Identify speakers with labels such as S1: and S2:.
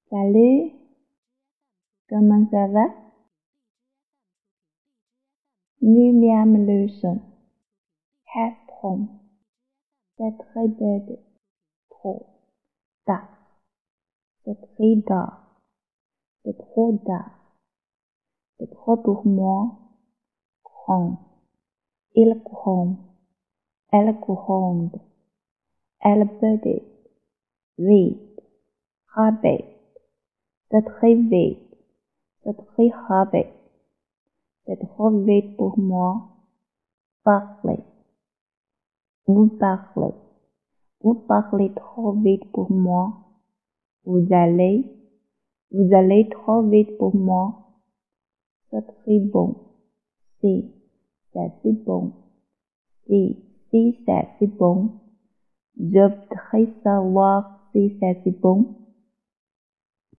S1: Salut, comment ça va? Nu miam lusen. Hästrom. C'est très bête. Trop. Tard. C'est très tard. C'est trop tard. C'est trop pour moi. Grand. Il gronde. Elle gronde. Elle peut vite. Rapide. C'est très vite. C'est très rapide. C'est trop vite pour moi. Parlez. Vous parlez. Vous parlez trop vite pour moi. Vous allez trop vite pour moi. C'est très bon. Si, c'est si bon. Si c'est si bon. Je voudrais savoir si c'est si bon.